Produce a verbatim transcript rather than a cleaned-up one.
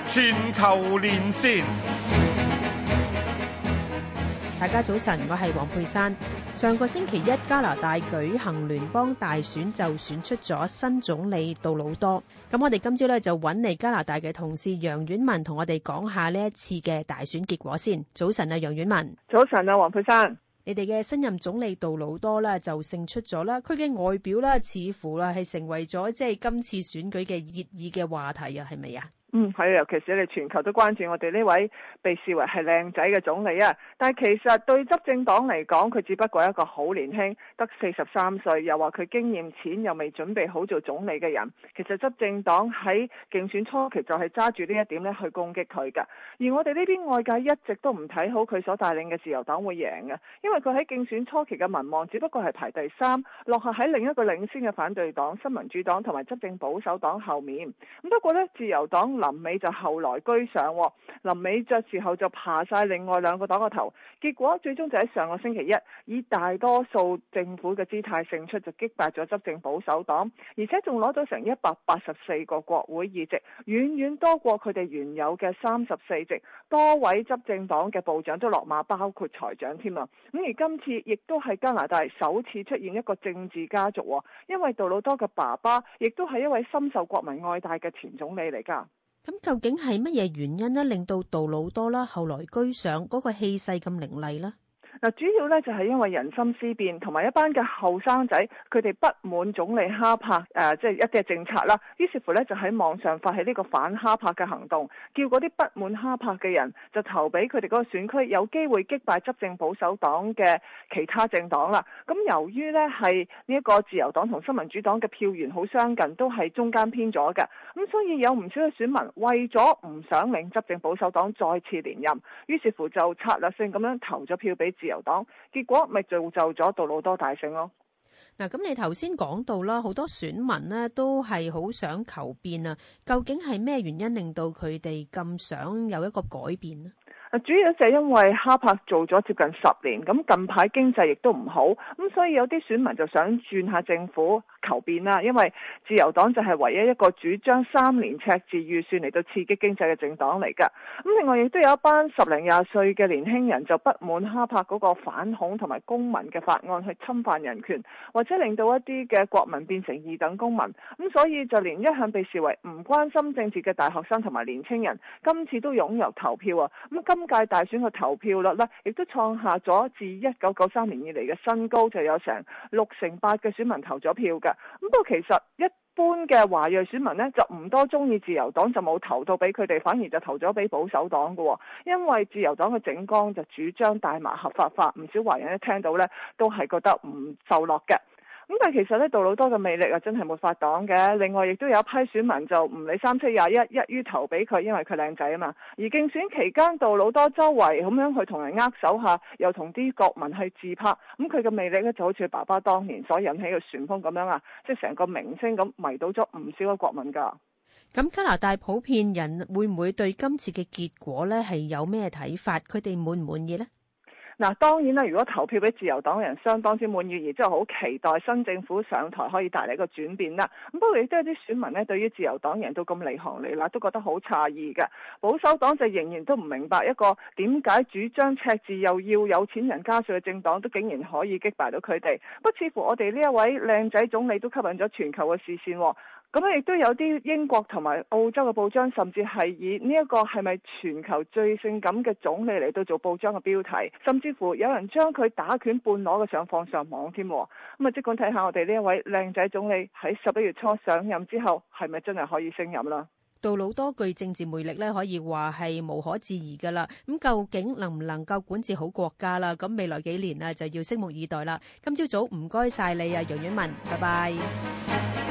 全球連線。 大家早晨，我係黃佩珊。上個星期一加拿大舉行聯邦大選，就選出咗新總理杜魯多。咁我哋今朝咧就揾嚟加拿大嘅同事楊婉文同我哋講下呢一次嘅大選結果先。早晨啊，楊婉文。 早晨啊，黃佩珊。 你哋嘅新任總理杜魯多咧就勝出咗啦，佢嘅外表咧似乎啦係成為咗即係今次選舉嘅熱議嘅話題啊，係咪啊？ 嗯，係啊，尤其是你哋全球都關注我哋呢位被視為係靚仔嘅總理啊。但係其實對執政黨嚟講，佢只不過係一個好年輕，得四十三歲，又話佢經驗淺，又未準備好做總理嘅人。其實執政黨喺競選初期就係揸住呢一點咧去攻擊佢㗎。而我哋呢邊外界一直都唔睇好佢所帶領嘅自由黨會贏嘅，因為佢喺競選初期嘅民望只不過係排第三，落後喺另一個領先嘅反對黨新民主黨同埋執政保守黨後面。咁不過呢，自由黨臨尾就後來居上，臨尾嘅時候就爬晒另外兩個黨個頭，結果最終就喺上個星期一以大多數政府嘅姿態勝出，就擊敗咗執政保守黨，而且仲攞到成一百八十四個國會議席，遠遠多過佢哋原有嘅三十四席。多位執政黨嘅部長都落馬，包括財長添啊！咁而今次亦都係加拿大首次出現一個政治家族，因為杜魯多嘅爸爸亦都係一位深受國民愛戴嘅前總理嚟㗎。 咁究竟係乜嘢原因呢？令到杜魯多啦後來居上，嗰個氣勢咁凌厲呢？ 嗱，主要咧就係因為人心思變，同埋一班嘅後生仔，佢哋不滿總理哈柏誒，即係一啲嘅政策啦。於是乎咧，就喺網上發起呢個反哈柏嘅行動，叫嗰啲不滿哈柏嘅人就投俾佢哋嗰個選區，有機會擊敗執政保守黨嘅其他政黨啦。咁由於咧係呢一個自由黨同新民主黨嘅票源好相近，都係中間偏咗嘅，咁所以有唔少嘅選民為咗唔想令執政保守黨再次連任，於是乎就策略性咁樣投咗票俾自由黨，結果咪造就咗杜魯多大勝咯。 嗱，咁你頭先講到啦，好多選民呢都係好想求變啊，究竟係咩原因令到佢哋咁想有一個改變呢？ 主要就係因為哈柏做咗接近十年，咁近排經濟亦都唔好，咁所以有啲選民就想轉下政府求變啦。因為自由黨就係唯一一個主張三年赤字預算嚟到刺激經濟嘅政黨嚟㗎。咁另外亦都有一班十零廿歲嘅年輕人就不滿哈柏嗰個反恐同埋公民嘅法案去侵犯人權，或者令到一啲嘅國民變成二等公民。咁所以就連一向被視為唔關心政治嘅大學生同埋年輕人，今次都湧入投票啊！咁今屆大選嘅投票率呢，亦都創下咗自一九九三年以嚟嘅新高，就有成六成八嘅選民投咗票㗎。咁不過其實一般嘅華裔選民呢，就唔多中意自由黨，就冇投到俾佢哋，反而就投咗俾保守黨㗎。因為自由黨嘅政綱就主張大麻合法化，唔少華人一聽到呢，都係覺得唔受落嘅。咁但係其實咧，杜魯多嘅魅力啊，真係沒法擋嘅。另外，亦都有一批選民就唔理三七廿一，一於投俾佢，因為佢靚仔啊嘛。而競選期間，杜魯多周圍咁樣去同人握手下，又同啲國民去自拍。咁佢嘅魅力咧，就好似爸爸當年所引起嘅旋風咁樣啊，即係成個明星咁迷倒咗唔少嘅國民㗎。 咁加拿大普遍人會唔會對今次嘅結果咧係有咩睇法？佢哋滿唔滿意呢？ 嗱，當然啦，如果投票俾自由黨嘅人相當之滿意，而之後好期待新政府上台可以帶嚟一個轉變啦。咁不過亦都有啲選民呢，對於自由黨贏到咁離行離辣，都覺得好詫異嘅。保守黨就仍然都唔明白一個點解主張赤字又要有錢人加稅嘅政黨，都竟然可以擊敗到佢哋。不過似乎我哋呢一位靚仔總理都吸引咗全球嘅視線。咁亦都有啲英國同埋澳洲嘅報章，甚至係以呢一個係咪全球最性感嘅總理嚟到做報章嘅標題，甚至乎有人將佢打拳半裸嘅相放上網添。咁啊，即管睇下我哋呢一位靚仔總理喺十一月初上任之後，係咪真係可以升任啦？ 杜魯多具政治魅力咧，可以話係無可置疑噶啦。咁究竟能唔能夠管治好國家啦？咁未來幾年啊，就要拭目以待啦。今朝早唔該晒你啊，楊婉文，拜拜。